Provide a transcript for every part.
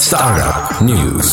Startup News.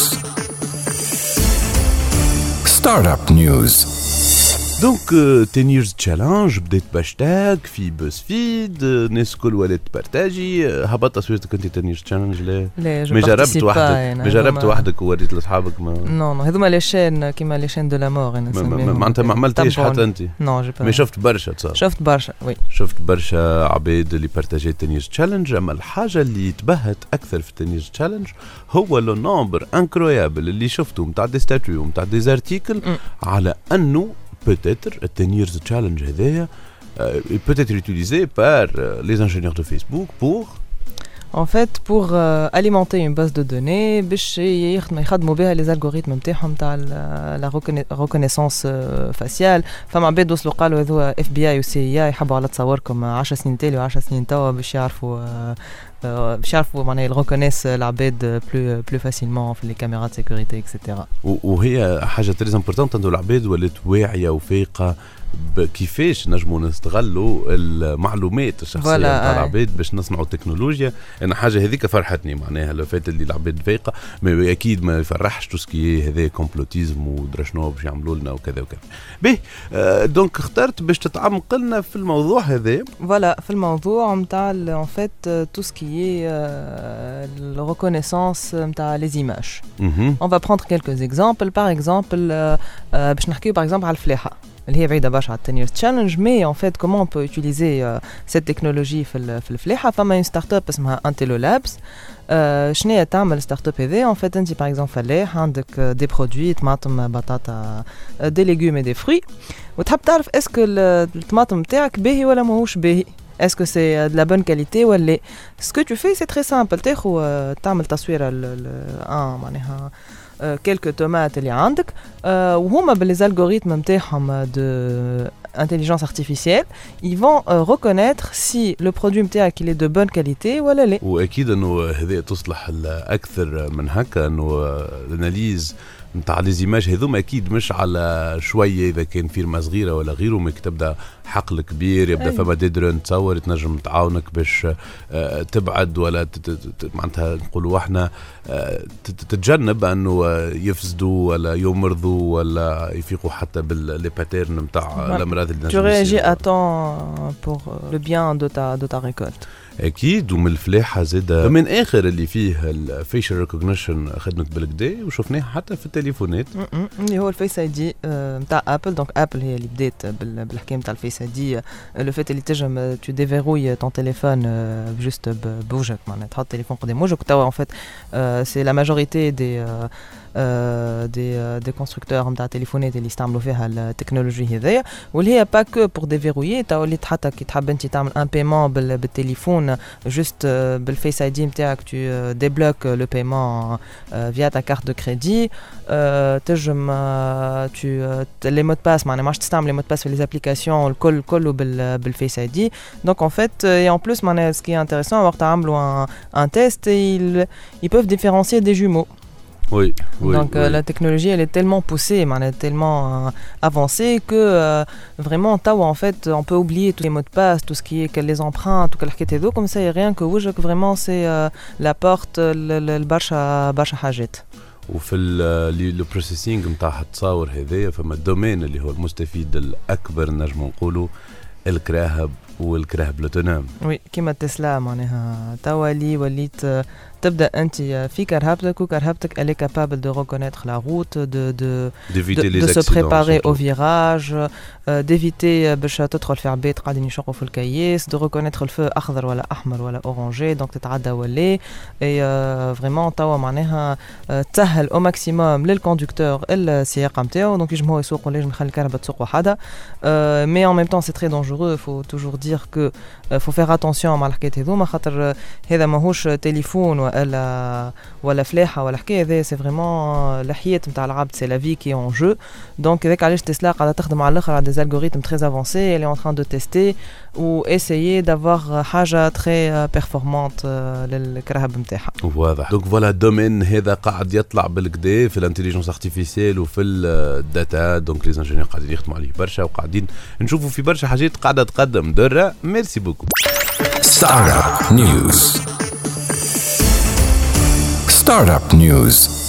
Startup News. دونك 10 years challenge بديت باشتاج في بوز فيد، الناس الكل ولات تبارتاجي. هبط تصويرتك انت 10 years challenge؟ لا ما جربت وحدك، ما جربت وحدك ووريت لاصحابك؟ ما نو هذوما لي شين كيما لي شين دو لا مور. معناتها ما عملتيش حتى انت؟ نو مي شفت برشا تصور. شفت برشا وي، شفت برشا عباد اللي بارتاجي 10 years challenge. اما الحاجه اللي تبهت اكثر في 10 years challenge هو لو نومبر انكرويابل اللي شفته نتاع دي ستاتيو ونتاع دي زارتيكل على انه peut-être le 10 years challenge هذايا peut être utilisé par les ingénieurs de Facebook pour en fait pour alimenter une base de données باش يخدموا بها les algorithmes نتاعهم تاع la reconnaissance faciale. فما عباد وصلوا قالوا هذو FBI و CIA يحبوا على تصوركم 10 سنين تالي و 10 سنين توا باش يعرفوا معناها يركونيس العباد بلو فاسيلمون في لي كاميرا دو سيكوريتي اكسيتيرا. وهي حاجه تري امبورطونت انه العباد ولات واعيه وفايقه كيفاش نجموا نستغلوا المعلومات الشخصيه نتاع العباد باش نصنعوا تكنولوجيا. انا حاجه هذيك فرحتني معناها لو فات اللي العباد فايقه، ما اكيد ما يفرحش توسكي هذا كومبلوتيزم ودرشنو باش يعملوا لنا وكذا وكذا. به دونك اخترت باش تتعمق لنا في الموضوع هذا. فوالا في الموضوع نتاع ان فيت توسكي la reconnaissance نتاع les images. On va prendre quelques exemples. Par exemple باش نحكيو par exemple على الفلاحه اللي هي بعيده برشا على 10 years challenge. mais en fait comment on peut utiliser cette technologie في الفلاحه؟ فما une startup اسمها Antelo Labs. شنو تعمل ستارت اب هذه؟ en fait انت par exemple فلاح عندك des produits طماطم بطاطا des légumes et des fruits وتحب تعرف اسكو الطماطم نتاعك باهي ولا ماهوش باهي، est-ce que c'est de la bonne qualité ou pas. Ce que tu fais c'est très simple. تعمل تصوير معناها quelques tomates اللي عندك وهما باللي algorithmes نتاعهم de intelligence artificielle ils vont reconnaître si le produit نتاعك il est de bonne qualité ولا لا. واكيد انه هذه تصلح اكثر من هكا، انه الاناليز نتاع لي زيماج هذوما اكيد مش على شويه اذا كان فيرما صغيره ولا غيره، ما تبدا حقل كبير يبدا فما ديدرون تصور تنجم تعاونك باش تبعد ولا معناتها نقولوا احنا تتجنب انه يفسدوا ولا يمرضوا ولا يفيقوا حتى باللي باترن نتاع الامراض اللي tu réagis à temps pour le bien de ta récolte. اكيد. ومن الفلاحه زاد من اخر اللي فيه الفيشل ريكوجنيشن اخذنك بالكدا وشفناه حتى في التليفونات اللي هو الفيس اي دي نتاع ابل. دونك ابل هي اللي بدات بالحكايه نتاع الفيس اي دي، لو فات اللي تنجم تو ديفيروي طون تليفون جوست بوجهك، معناتها تحط التليفون قدام وجهك. توا ان فيت سي لا ماجوريتي دي كونستركتور نتاع تليفونات اللي يستعملوا فيها التكنولوجي هذيا، واللي هي با كو بور ديفيروي. توا اللي حتى كي تحب انت تعمل ان بايمون بالتليفون جوست بالفيس اي دي نتاعك تو ديبلوك لو بايمون فيا تا كارت دو كريدي. تنجم لي مود باس معناها ماش تستعمل لي مود باس في لي ابليكاسيون الكل كله بالفيس اي دي. دونك ان فيت اي ان بلوس معناها سكي انتريسون وقت عملوا ان تيست ils peuvent différencier des jumeaux. Oui, donc oui. La technologie elle est tellement poussée, tellement avancée que vraiment en fait on peut oublier tous les mots de passe, tout ce qui est les empreintes, tout ce comme ça, et rien que وجهك vraiment c'est la porte البرشا حاجات. وفي لو بروسيسينغ نتاع التصاور هذايا فما الدومين اللي هو المستفيد الاكبر نجم نقولوا الكراهب والكراهب لوتونوم. وي كيما تسلا معناها توا وليت تبدا انت في كرهبتك وكرهبتك elle est capable de reconnaître la route, de se préparer au virage, d'éviter باش تدخل في عباد قاعدين يشقوا في الكياس, de reconnaître الفو اخضر ولا احمر ولا اورانجي دونك تتعدى ولا. اي فريمون توا معناها تسهل او ماكسيموم للكوندكتور السياقه نتاعو، دونك يجم هو يسوق ولا يجم يخلي الكهرباء تسوق وحدها. مي en même temps c'est très dangereux. faut toujours dire que faut faire attention مع الحكايات هذوما، خاطر هذا ماهوش تليفون ولا فلاحه ولا حكايه. هذا سي فريمون الحياه نتاع العبد، سي لا في كي اون جو. دونك هذاك علاش تسلا قاعده تخدم على الاخر على دي algorithmes très avancés. Elle est en train de tester ou essayer d'avoir حاجه très performante للكرهب نتاعها. واضح. دونك فوالا الدومين هذا قاعد يطلع بالكدا في الانتيليجنس ارتيفيسيال وفي الداتا. دونك لي انجينيور قاعدين يخدموا عليه برشا وقاعدين نشوفوا في برشا حاجات قاعده تقدم. درة ميرسي بوكو. Startup News. Startup News.